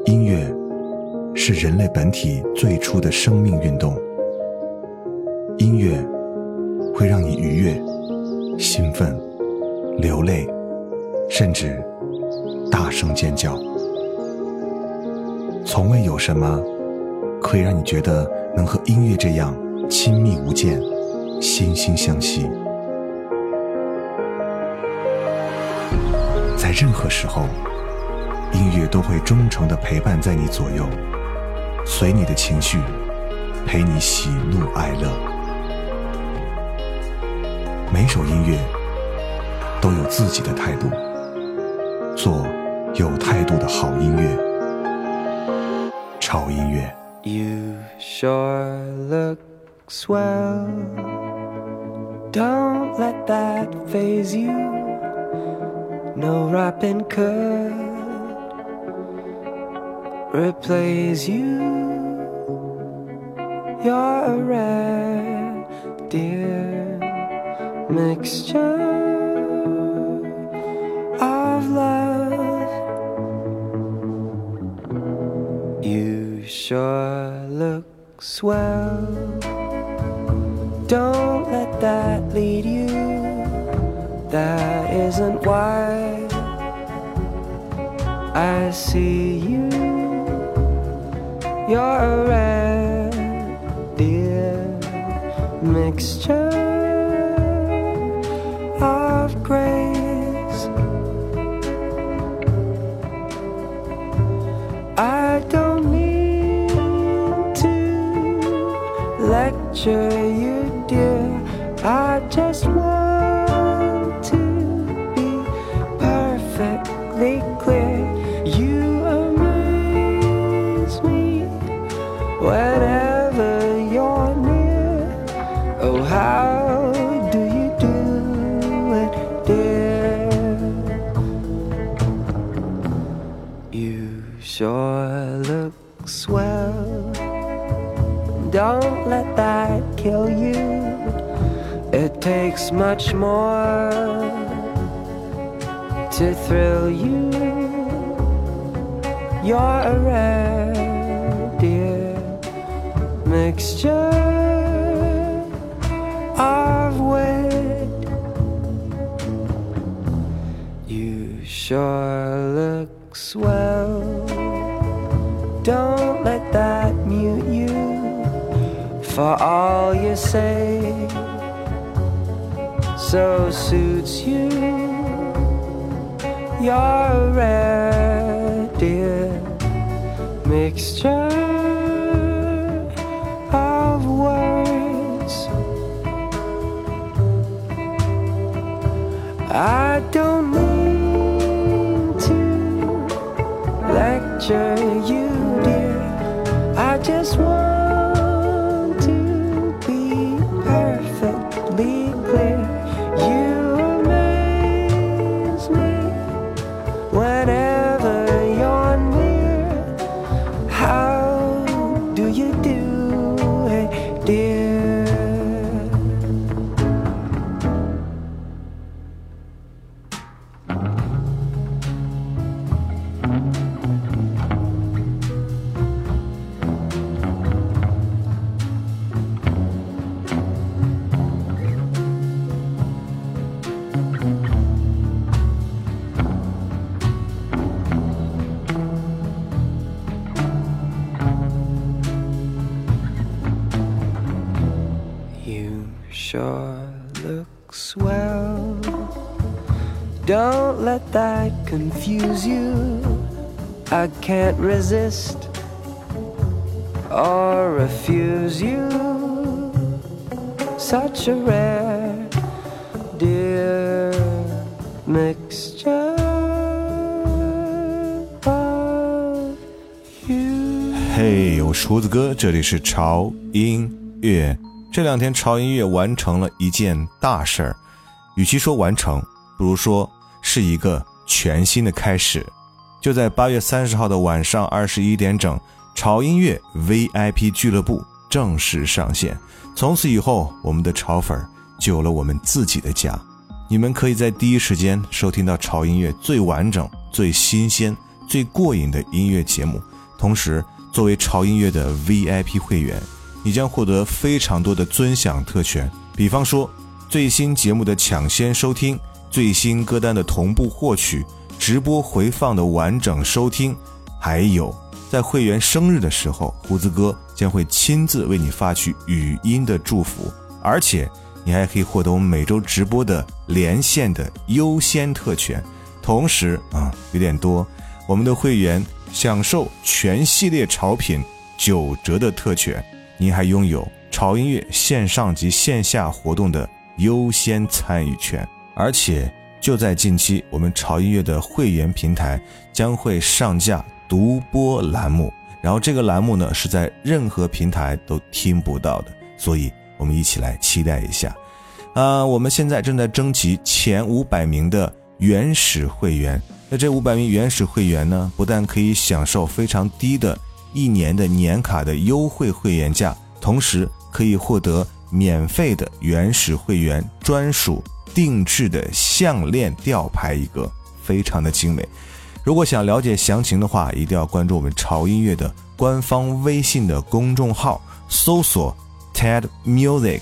音乐是人类本体最初的生命运动，音乐会让你愉悦、兴奋、流泪，甚至大声尖叫。从未有什么可以让你觉得能和音乐这样亲密无间、惺惺相惜。在任何时候，音乐都会忠诚地陪伴在你左右，随你的情绪，陪你喜怒哀乐。每首音乐都有自己的态度，做有态度的好音乐。潮音乐。 You sure look swell. Don't let that faze you. No rapping could replace you. You're a rare, dear mixture of love. You sure look swell. Don't let that lead you. That isn't why I see you. You're a rare, dear mixture of grace. I don't mean to lecture you, dear. I just want to be perfectly clear. You amaze me whenever you're near. Oh, how do you do it, dear? You sure look swell. Don't let that kill you. It takes much more to thrill you. You're a rare, dear mixture of wit. You sure look swell. Don't let that mute you. For all you say so suits you. You're a rare, dear mixture of words. I don't mean to lecture you, dear. I just want to be perfectly clear. You amaze me whenever you're near. How do you do it, dear? Sure looks well. Don't let that confuse you. I can't resist or refuse you. Such a rare, dear mixture of you. 嘿，我是胡子哥，这里是潮音乐。这两天潮音乐完成了一件大事儿，与其说完成，不如说是一个全新的开始。就在8月30号的晚上21点整，潮音乐 VIP 俱乐部正式上线。从此以后，我们的潮粉就有了我们自己的家。你们可以在第一时间收听到潮音乐最完整、最新鲜、最过瘾的音乐节目， 同时作为潮音乐的 VIP 会员，你将获得非常多的尊享特权，比方说最新节目的抢先收听，最新歌单的同步获取，直播回放的完整收听，还有在会员生日的时候，胡子哥将会亲自为你发去语音的祝福，而且你还可以获得我们每周直播的连线的优先特权。同时有点多，我们的会员享受全系列潮品9折的特权，您还拥有潮音乐线上及线下活动的优先参与权。而且就在近期，我们潮音乐的会员平台将会上架独播栏目，然后这个栏目呢是在任何平台都听不到的，所以我们一起来期待一下。我们现在正在征集前500名的原始会员，那这500名原始会员呢，不但可以享受非常低的1年的年卡的优惠会员价，同时可以获得免费的原始会员专属定制的项链吊牌一个，非常的精美。如果想了解详情的话，一定要关注我们潮音乐的官方微信的公众号，搜索 TED Music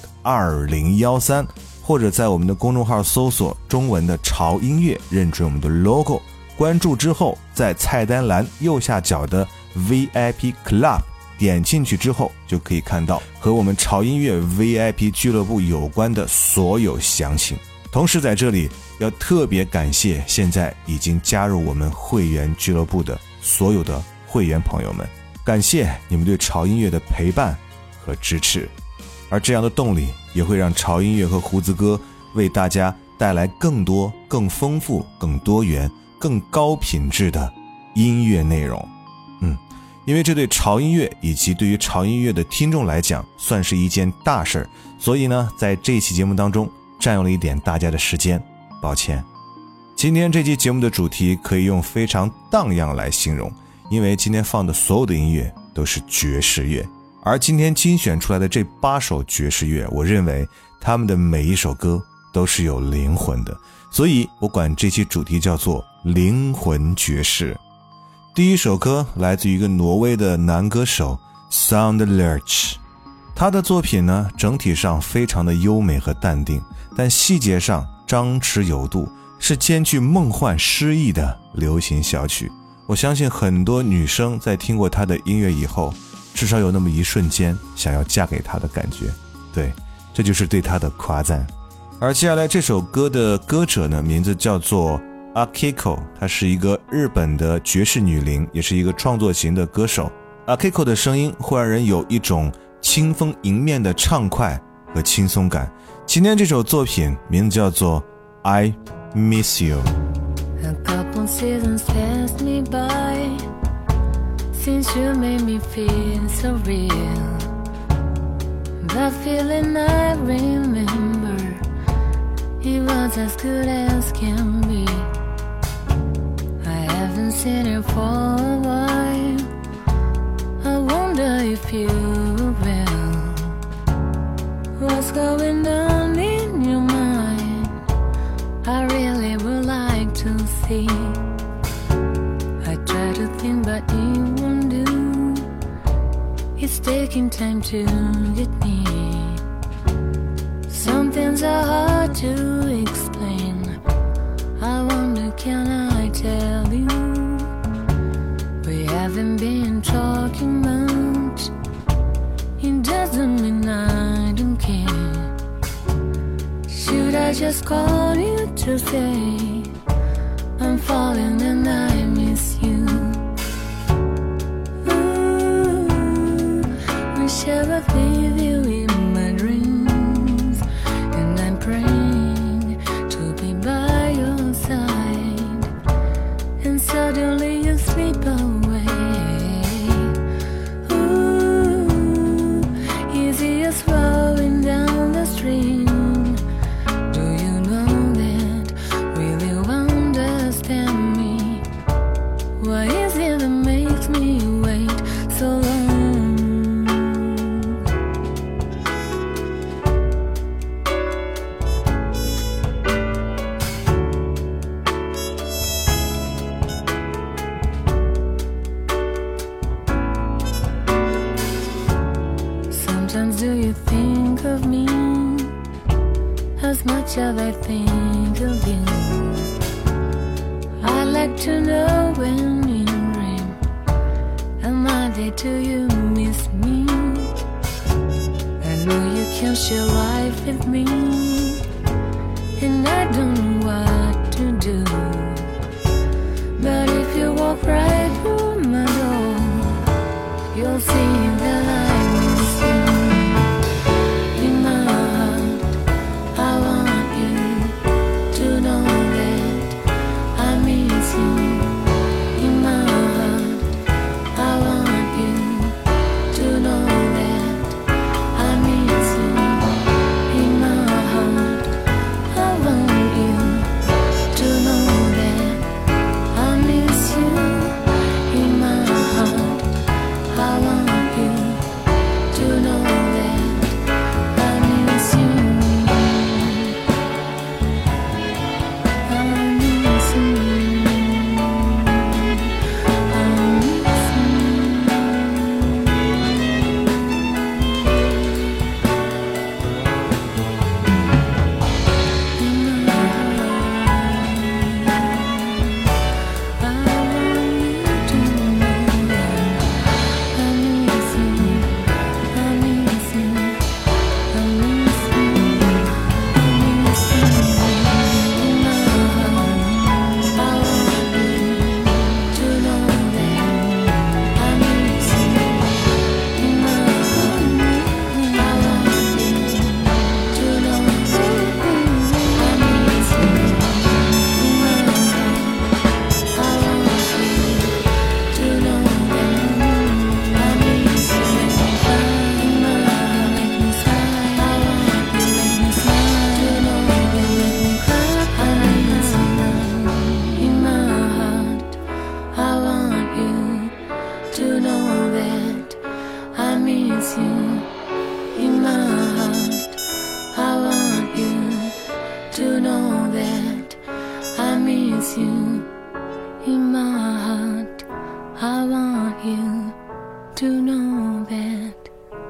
2013，或者在我们的公众号搜索中文的潮音乐，认准我们的 logo， 关注之后，在菜单栏右下角的 VIP Club 点进去之后，就可以看到和我们潮音乐 VIP 俱乐部有关的所有详情。同时在这里要特别感谢现在已经加入我们会员俱乐部的所有的会员朋友们，感谢你们对潮音乐的陪伴和支持，而这样的动力也会让潮音乐和胡子哥为大家带来更多、更丰富、更多元、更高品质的音乐内容。因为这对潮音乐以及对于潮音乐的听众来讲算是一件大事，所以呢，在这一期节目当中占用了一点大家的时间，抱歉。今天这期节目的主题可以用非常荡漾来形容，因为今天放的所有的音乐都是爵士乐，而今天精选出来的这8首爵士乐，我认为他们的每一首歌都是有灵魂的，所以我管这期主题叫做灵魂爵士。第一首歌来自于一个挪威的男歌手 Soundlerch， 他的作品呢整体上非常的优美和淡定，但细节上张弛有度，是兼具梦幻诗意的流行小曲。我相信很多女生在听过他的音乐以后，至少有那么一瞬间想要嫁给他的感觉，对，这就是对他的夸赞。而接下来这首歌的歌者呢，名字叫做Akiko， 她是一个日本的爵士女伶，也是一个创作型的歌手。Akiko 的声音会让人有一种清风迎面的畅快和轻松感。今天这首作品名字叫做 I Miss You。 A couple seasons passed me by since you made me feel so real. That feeling I remember, it was as good as can be.I haven't seen you for a while. I wonder if you will. What's going on in your mind? I really would like to see. I try to think but it won't do. It's taking time to get me. Some things are hard to explain.I wonder, can I tell you? We haven't been talking much. It doesn't mean I don't care. Should I just call you to say I'm falling and I miss you? Ooh, wish I would leave you in my dreams, and I'm praying.To be by your side, and suddenly you slip away. Ooh, easy as flowing down the stream. Do you know that? Will you understand me? What is it that makes me wait so long? I think of you. I'd like to know when you dream, am I there till you miss me? I know you can share life with me, and I don't know what to do. But if you walk right through my door, you'll see that I miss you. In my heart, I want you to know that I miss you. In my heart, I want you to know that I miss you. In my heart, I want you to know that I miss you. In my heart, I want you to know that I miss you. I miss you. I miss you. In my heart, I want you to know that I miss you. I miss you. I miss you. I miss you. In my heart, I want you to know that I miss you. In my heart, I want you to know that I miss you. In my heart, I want you to know that I miss you. In my heart, make me smile. I want you, make me smile. To know that make me cry. I miss you. In my heart, I want you to know that I miss you. In my heart, I want you to know that I miss you. In my heart, I want you to know that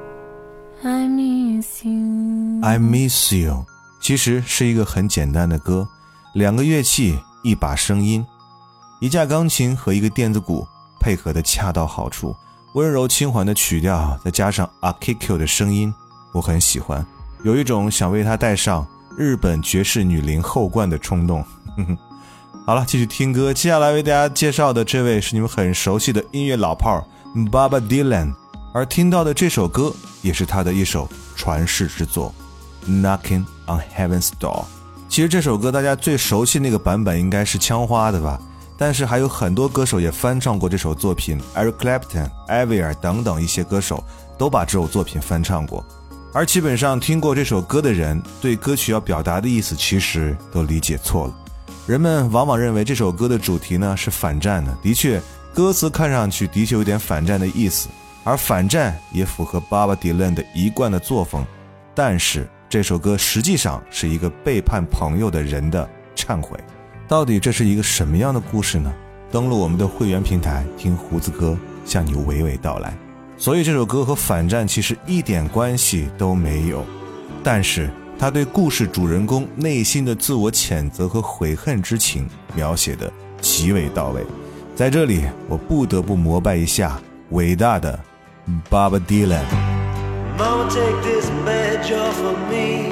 I miss you. I miss you 其实是一个很简单的歌，两个乐器，一把声音，一架钢琴和一个电子鼓配合的恰到好处，温柔轻缓的曲调再加上 Akiko 的声音，我很喜欢，有一种想为它戴上日本爵士女伶后冠的冲动。好了，继续听歌，接下来为大家介绍的这位是你们很熟悉的音乐老炮 Bob Dylan， 而听到的这首歌也是他的一首传世之作 Knocking on Heaven's Door。 其实这首歌大家最熟悉那个版本应该是枪花的吧，但是还有很多歌手也翻唱过这首作品， Eric Clapton、Avril 等等一些歌手都把这首作品翻唱过，而基本上听过这首歌的人对歌曲要表达的意思其实都理解错了。人们往往认为这首歌的主题呢是反战的，的确歌词看上去的确有点反战的意思，而反战也符合 Bob Dylan 的一贯的作风，但是这首歌实际上是一个背叛朋友的人的忏悔。到底这是一个什么样的故事呢？登录我们的会员平台，听胡子哥向你娓娓道来。所以这首歌和反战其实一点关系都没有，但是他对故事主人公内心的自我谴责和悔恨之情描写得极为到位。在这里我不得不膜拜一下伟大的 Bob Dylan。 Mama, take this badge off of me.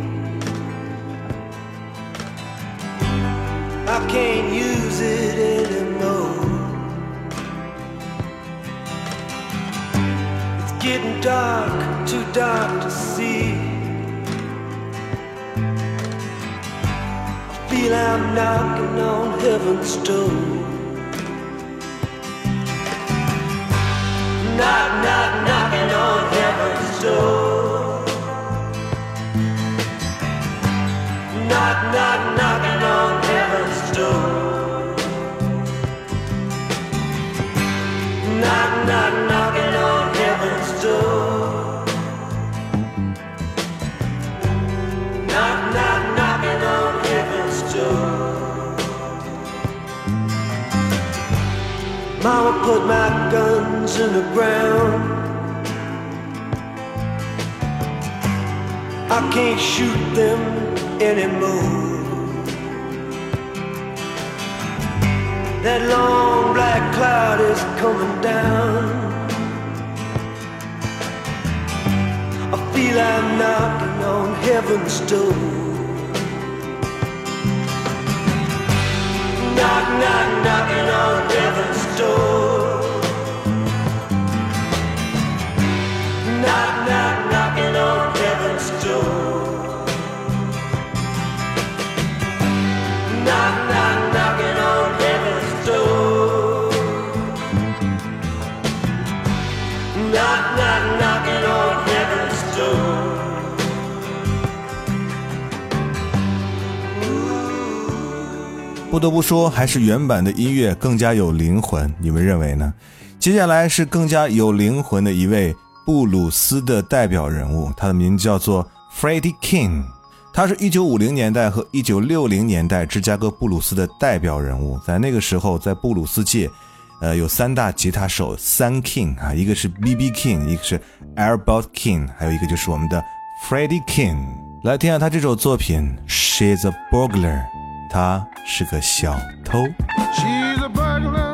I can't use it anymore. It's getting dark, too dark to see. I feel I'm knocking on heaven's door. Knock, knock, knocking on heaven's door. Knock, knock, knocking on heaven's door. Knock, knock, knocking on heaven's door. Knock, knock, knocking on heaven's door. Mama put my guns in the ground. I can't shoot them anymore. That long black cloud is coming down. I feel I'm knocking on heaven's door. Knock, knock, knocking on heaven's door. Knock, knock, knocking on heaven's door. Knock, knock, knocking on heaven's door. Knock, knock, knocking on heaven's door. 不得不说，还是原版的音乐更加有灵魂，你们认为呢？接下来是更加有灵魂的一位布鲁斯的代表人物，他的名字叫做 Freddie King。他是1950年代和1960年代芝加哥布鲁斯的代表人物。在那个时候，在布鲁斯界，有三大吉他手，三 King 啊，一个是 B.B. King， 一个是 Albert King， 还有一个就是我们的 Freddie King。来听下他这首作品 She's a Burglar， 他是个小偷。 She's a burglar.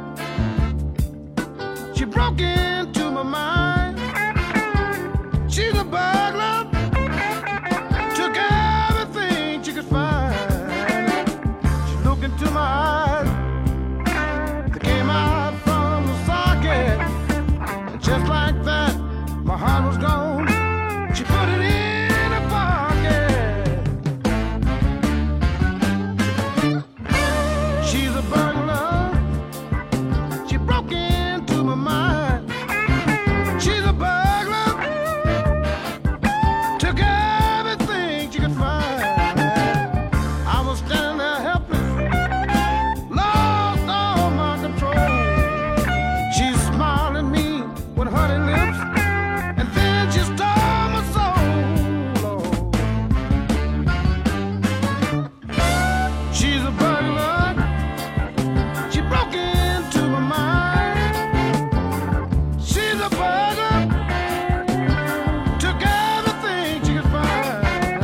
She broke into my mind. She's a burglar. Took everything she could find. She looked into my eyes. They came out from the socket. And just like that, my heart was gone. She put it in her pocket. She's a burglar. She broke into my mind. She's a burglar. Took everything she could find. I was standing there helpless, lost all my control. She smiled at me with honey lips, and then she stole my soul. She's a burglar. She broke into my mind. She's a burglar. Took everything she could find.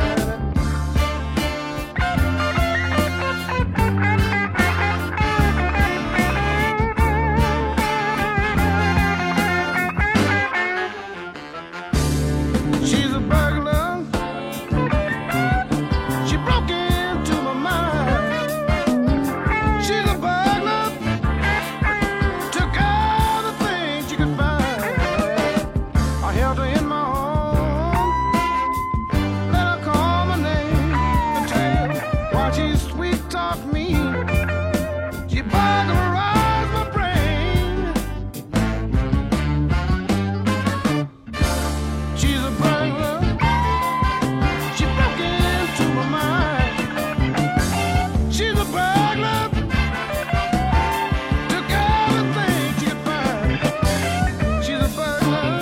She's a burglar. She broke into my mind. She's a burglar. Took everything she could find. I held her in my arms, let her call my name and tell while she sweet talked me. She burglarized my brain. She's a burglar. She broke into my mind. She's a burglar. Took everything she could find. She's a burglar.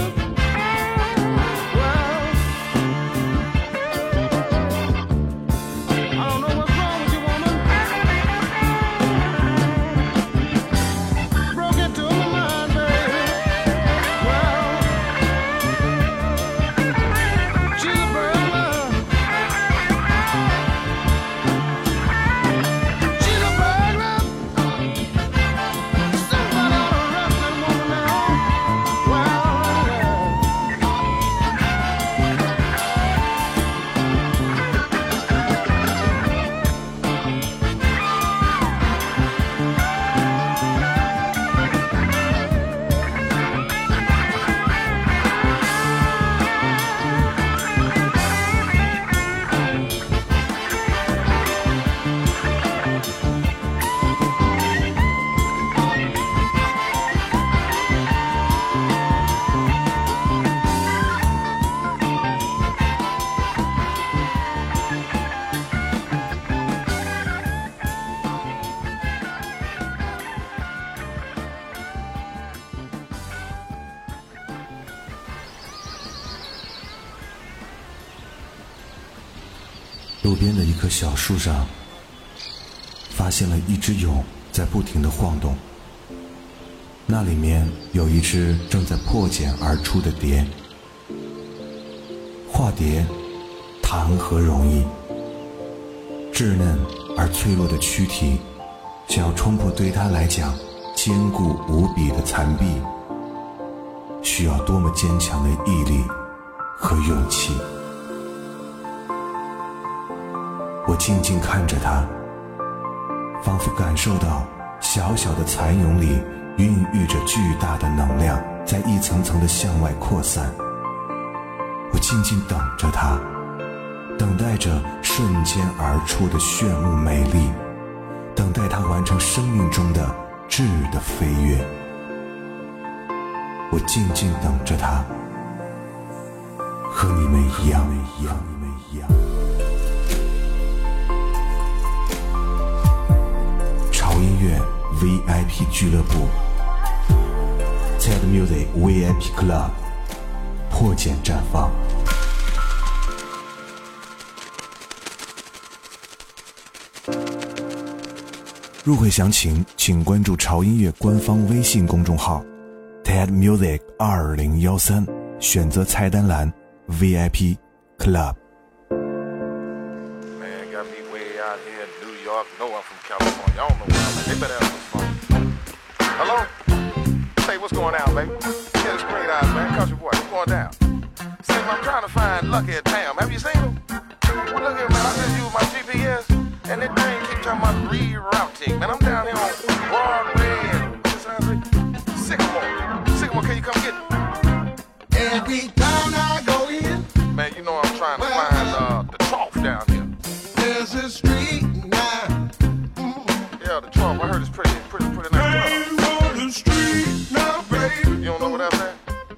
Well, I don't know what's wrong with you, woman. Broke into my mind, baby. Well, she's a burglar. She's a burglar. Somebody ought to arrest that woman now. Well, 路边的一棵小树上，发现了一只蛹在不停地晃动，那里面有一只正在破茧而出的蝶。化蝶谈何容易， 稚嫩而脆弱的躯体，想要冲破对他来讲坚固无比的残壁，需要多么坚强的毅力和勇气。我静静看着他，仿佛感受到小小的蚕蛹里孕育着巨大的能量，在一层层的向外扩散。我静静等着他，等待着瞬间而出的炫目美丽，等待他完成生命中的质的飞跃。我静静等着他，和你们一样。潮音乐 VIP 俱乐部 TED Music VIP Club 破茧绽放。入会详情请关注潮音乐官方微信公众号 TED Music 2013，选择菜单栏 VIP Club。 Man, got me way out here in New York. No, I'm from California. I don't know where I'm at. They better have some fun. Hello? Say, what's going on, baby? Yeah, it's Green Eyes, man. Country boy, what's going down? Say, I'm trying to find Lucky at Tam. Have you seen him? Well, look here, man. I just used my GPS, and that thing keep talking about rerouting. Man, I'm down here on Broadway and Sycamore, can you come get me? Every time I go in, Man, you know I'm trying to find the trough down here. there's a street now. Yeah, the trough. I heard it's pretty nice. Ain't on the street now, baby. You don't know what that's at?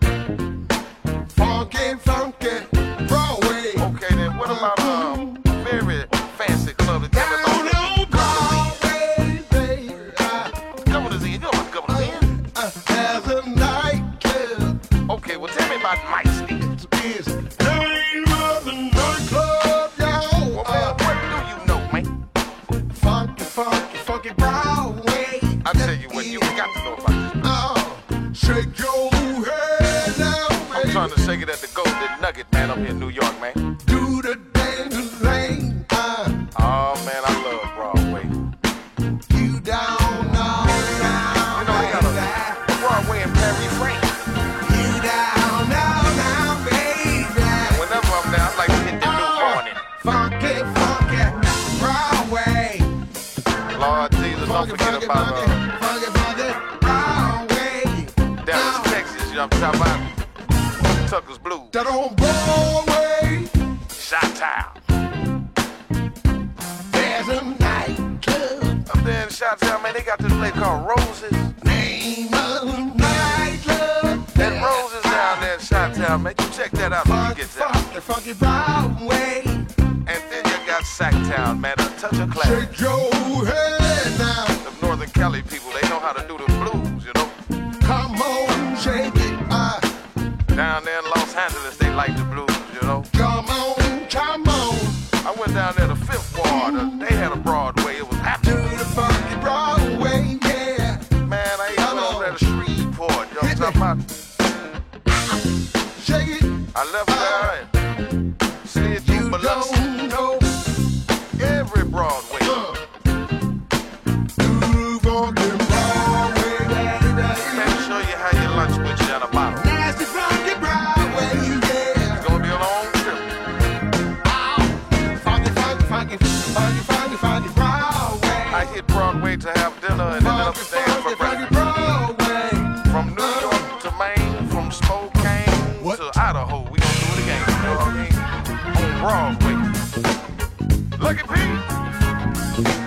Funky, Broadway. Okay, then what about very fancy club that Down on Broadway, baby. Governor's Inn? You know what Governor's Inn? There's a nightclub. Okay, well tell me about Mike's Inn. It's name of the nightclub, y'all. Well, man, what do you know, man? Funky Broadway. I tell you what, you got to know about this. Shake your head now, I'm baby. trying to shake it at the Golden Nugget, man, up here in New York, man. Do the dance lane. Oh, man, I love Broadway. You down now. You know, they got a Broadway in Paris, France. You down now, baby. Whenever I'm there, I like to hit the New Morning. Funky Broadway. Lord Jesus, don't forget about funky Broadway. Dallas, Texas, you know what I'm talking about? Tucker's Blues. That on Broadway. Chi-Town. There's a nightclub. Up there in Chi-Town, man, they got this place called Roses. Name of the nightclub. That Roses down there in Chi-Town, man, you check that out when you get there. Funky Broadway. And then you got Sacktown, man, a touch of class. Shake your head now. The Northern Cali people, they know how to do the blues, you know. Come on, shake it. Down there in Los Angeles, they like the blues, you know. Come on, come on. I went down there to Fifth Ward, they had a Broadway, it was Do happening. the funky Broadway, yeah. Man, I even went over there to Shreveport, you know what I'm talking about? Shake it. I left there and slid through You Biloxi, don't know. every Broadway. Do the funky Broadway, baby. Let me show you how your lunch with you in a bottle. Nasty funky Broadway, yeah. It's gonna be a long trip. Funky Broadway. I hit Broadway to have dinner and ended up staying for Funky breakfast. Broadway. From New York to Maine, from Spokane What? to Idaho, we gonna do it again. You know what I mean? On Broadway. Lucky Pete.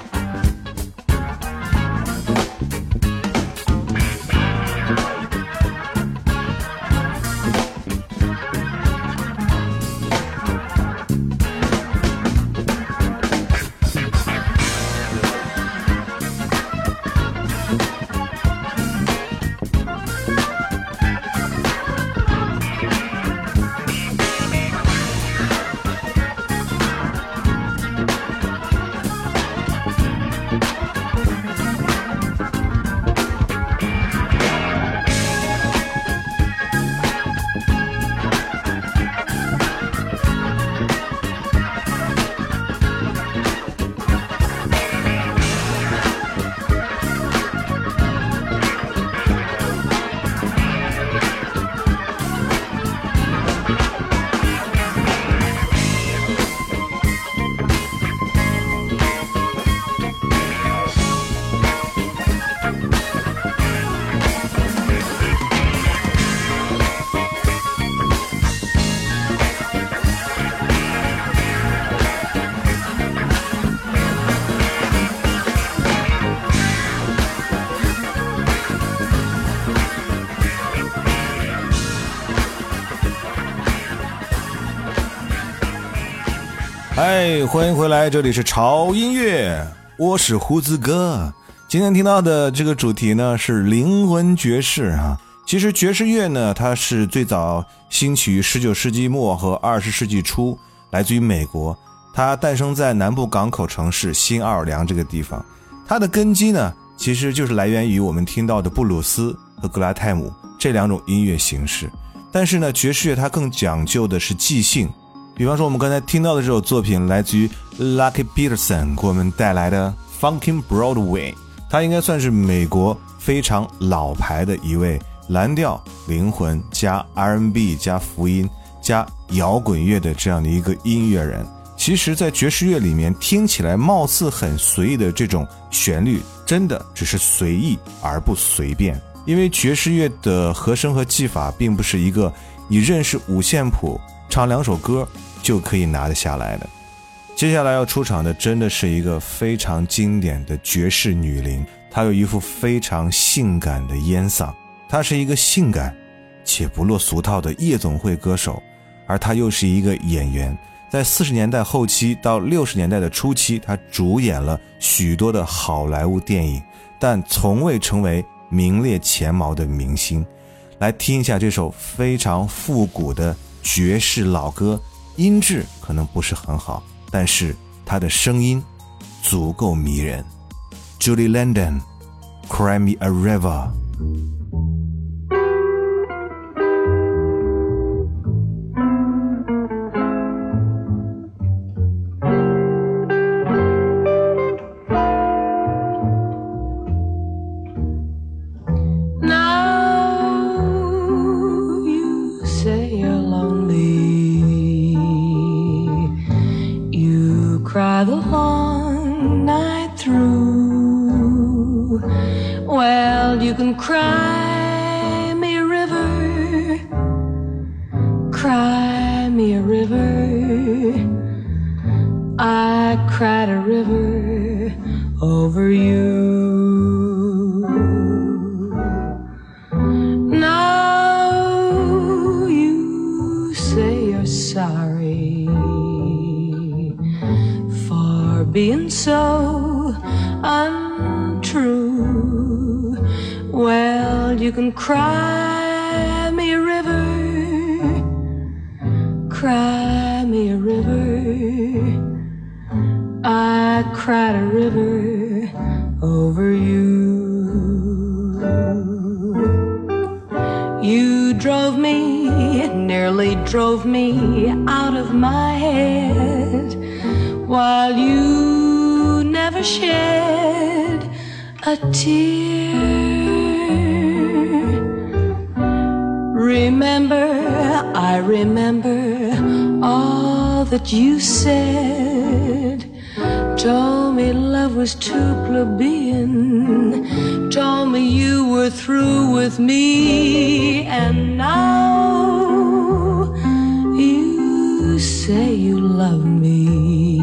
欢迎回来，这里是潮音乐，我是胡子哥。今天听到的这个主题呢是灵魂爵士啊。其实爵士乐呢，它是最早兴起于19世纪末和20世纪初，来自于美国。它诞生在南部港口城市新奥尔良这个地方。它的根基呢，其实就是来源于我们听到的布鲁斯和格莱泰姆这两种音乐形式。但是呢，爵士乐它更讲究的是即兴。比方说我们刚才听到的这首作品来自于 Lucky Peterson 给我们带来的 Funkin' Broadway， 他应该算是美国非常老牌的一位蓝调灵魂加 R&B 加福音加摇滚乐的这样的一个音乐人。其实在爵士乐里面听起来貌似很随意的这种旋律，真的只是随意而不随便。因为爵士乐的和声和技法并不是一个你认识五线谱唱2首歌就可以拿得下来的。接下来要出场的真的是一个非常经典的爵士女伶，她有一副非常性感的烟嗓，她是一个性感且不落俗套的夜总会歌手，而她又是一个演员。在40年代后期到60年代的初期，她主演了许多的好莱坞电影，但从未成为名列前茅的明星。来听一下这首非常复古的爵士老歌，音质可能不是很好，但是她的声音足够迷人。 Julie London Cry Me a River。 Cry the long night through. Well, you can cry me a river, cry me a river. I cried a river over you. Now you say you're sorry being so untrue. Well, you can cry me a river, cry me a river. I cried a river over you. You drove me, nearly drove me out of my head, while you never shed a tear. Remember, I remember all that you said. Told me love was too plebeian, told me you were through with me. And now you say you love me.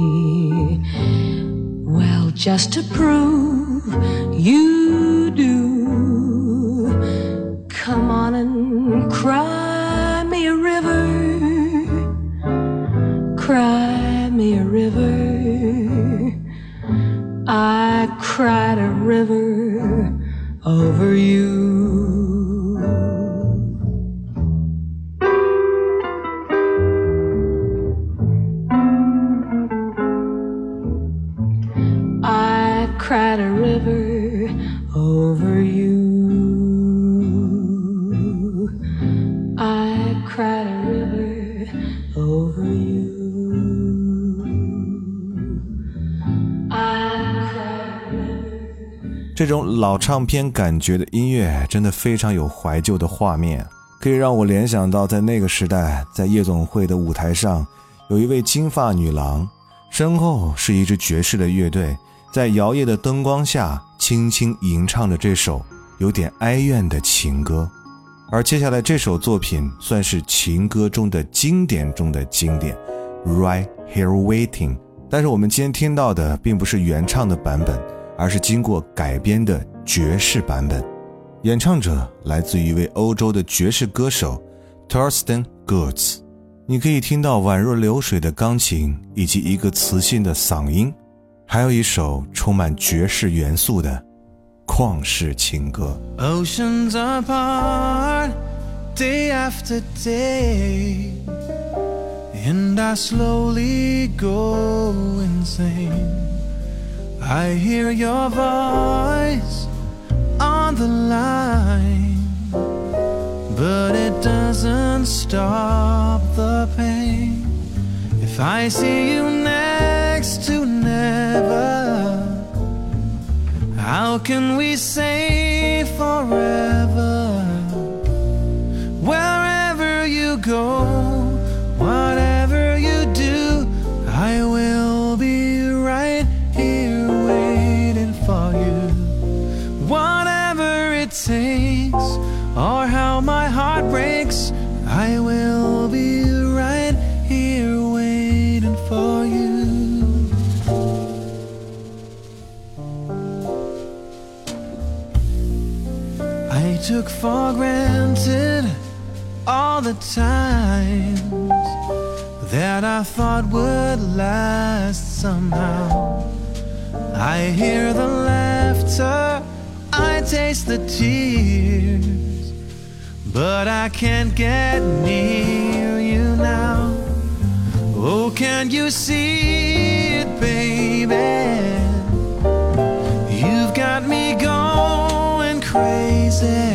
Well, just to prove you do, come on and cry me a river, cry me a river. I cried a river over you. I cried a river over you. I cried a river over you. I cried a river. 这种老唱片感觉的音乐真的非常有怀旧的画面，可以让我联想到在那个时代，在夜总会的舞台上有一位金发女郎，身后是一支爵士的乐队，在摇曳的灯光下轻轻吟唱着这首有点哀怨的情歌。而接下来这首作品算是情歌中的经典中的经典， Right Here Waiting。 但是我们今天听到的并不是原唱的版本，而是经过改编的爵士版本。演唱者来自于一位欧洲的爵士歌手 Thorsten Gutz。 你可以听到宛若流水的钢琴以及一个磁性的嗓音，还有一首充满爵士元素的旷世情歌。 Oceans apart, day after day, and I slowly go insane. I hear your voice on the line, but it doesn't stop the pain. If I see you next to never, how can we say forever? Wherever you go, whatever you do, I will be right here waiting for you. Whatever it takes, or how my heart breaks, I will be right here waiting for you. I took for granted all the times that I thought would last somehow. I hear the laughter, I taste the tears, but I can't get near you now. Oh, can't you see it, baby? You've got me going crazy.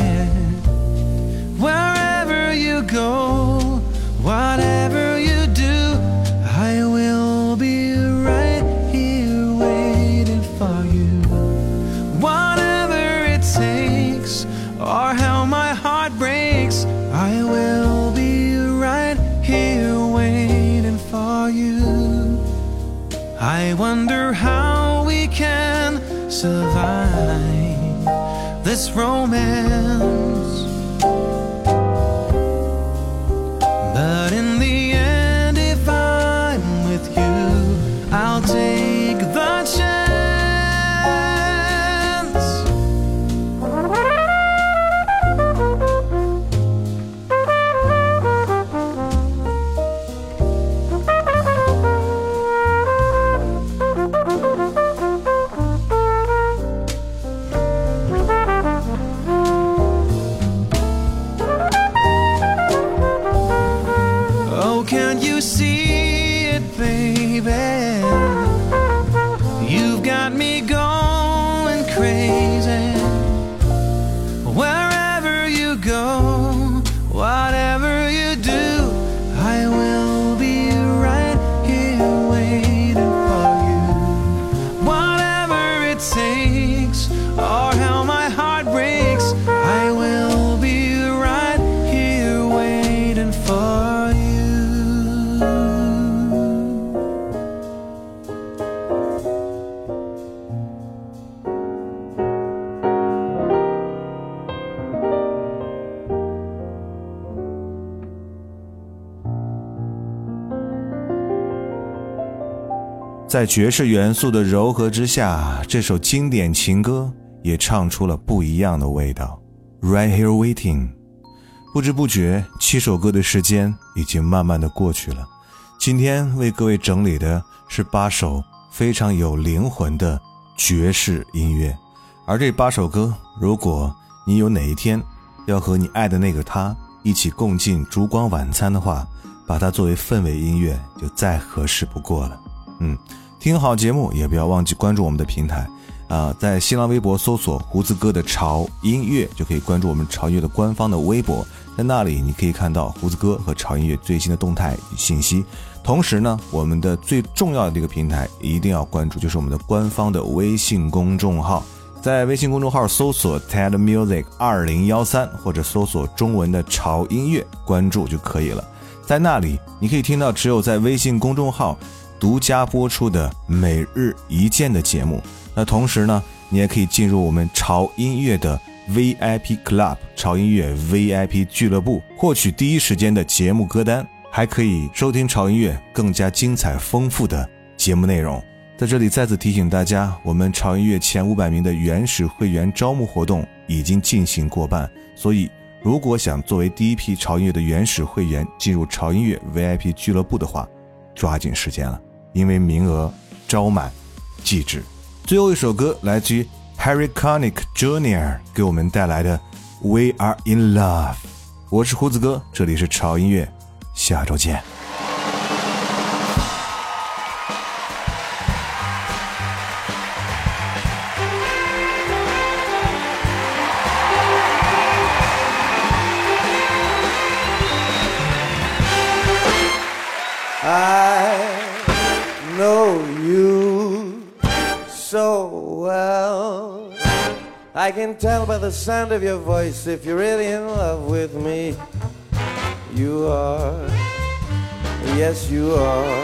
Wherever you go, whatever you do, I will be right here waiting for you. Whatever it takes, or how my heart breaks, I will be right here waiting for you. I wonder how we can survive this romance, but in the end, if I'm with you, I'll take the chance. Oh, can't you see it, baby? You've got me going crazy. Wherever you go, whatever you do, I will be right here waiting for you. Whatever it takes, or how my heart breaks, I will be right here waiting for you. 在爵士元素的柔和之下，这首经典情歌也唱出了不一样的味道。 Right here waiting， 不知不觉7首歌的时间已经慢慢的过去了。今天为各位整理的是8首非常有灵魂的爵士音乐，而这8首歌，如果你有哪一天要和你爱的那个他一起共进烛光晚餐的话，把它作为氛围音乐就再合适不过了。听好节目也不要忘记关注我们的平台在新浪微博搜索胡子哥的潮音乐，就可以关注我们潮音乐的官方的微博，在那里你可以看到胡子哥和潮音乐最新的动态与信息。同时呢，我们的最重要的一个平台一定要关注，就是我们的官方的微信公众号，在微信公众号搜索 TED Music 2013或者搜索中文的潮音乐，关注就可以了。在那里你可以听到只有在微信公众号独家播出的每日一见的节目。那同时呢，你也可以进入我们潮音乐的 VIP Club 潮音乐 VIP 俱乐部，获取第一时间的节目歌单，还可以收听潮音乐更加精彩丰富的节目内容。在这里再次提醒大家，我们潮音乐前500名的原始会员招募活动已经进行过半，所以如果想作为第一批潮音乐的原始会员进入潮音乐 VIP 俱乐部的话，抓紧时间了，因为名额招满即止。最后一首歌来自于 Harry Connick Jr. 给我们带来的 We Are In Love。 我是胡子哥，这里是潮音乐，下周见。 I know you so well. I can tell by the sound of your voice if you're really in love with me. You are, yes you are.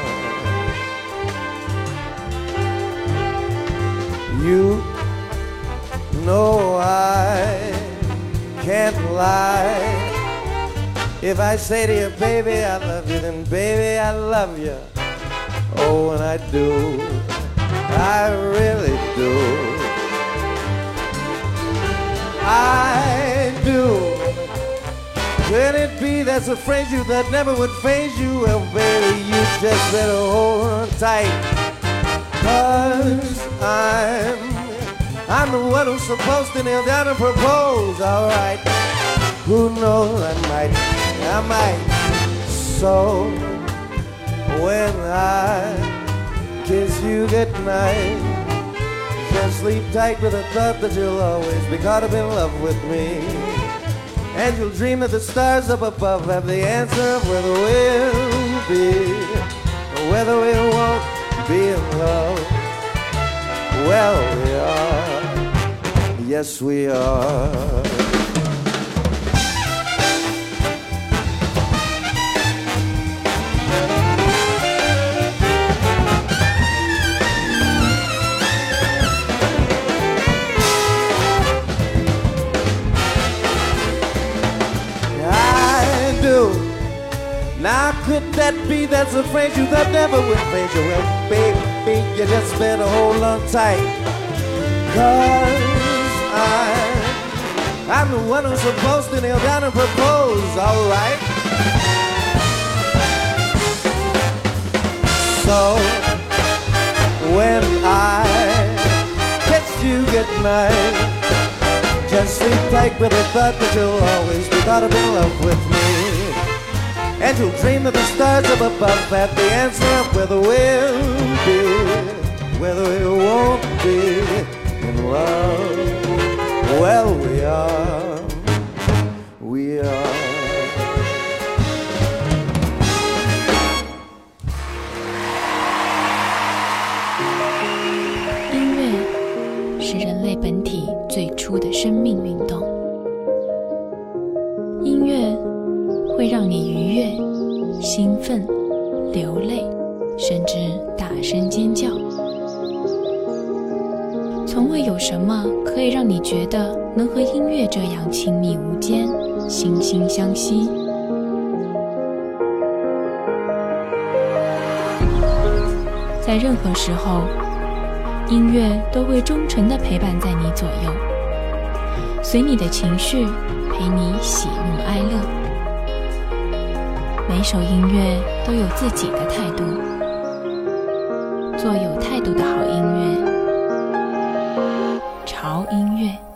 You know I can't lie. If I say to you, baby, I love you, then baby, I love you. Oh, and I do, I really do. I do. Could it be that's a phrase you that never would faze you? Well, baby, you just better hold on tight. 'Cause I'm the one who's supposed to kneel down and propose, alright. Who knows, I might. So when I kiss you goodnight, just sleep tight with the thought that you'll always be caught up in love with me. And you'll dream that the stars up above have the answer of whether we'll be or whether we won't be in love. Well, we are, yes we are. Now could that be that's a phrase you thought never would faze you? Well, baby, you just better hold on tight. 'Cause I'm the one who's supposed to kneel down and propose, alright. So when I kiss you goodnight, just sleep tight with the thought that you'll always be caught up in love with me. And you'll dream that the stars up above have the answer of whether we'll be, whether we won't be in love. Well, we are, we are. 音乐是人类本体最初的生命运动。音乐会让你愉悦、兴奋、流泪，甚至大声尖叫。从未有什么可以让你觉得能和音乐这样亲密无间、惺惺相惜。在任何时候，音乐都会忠诚地陪伴在你左右，随你的情绪，陪你喜怒哀乐。每首音乐都有自己的态度，做有态度的好音乐，潮音乐。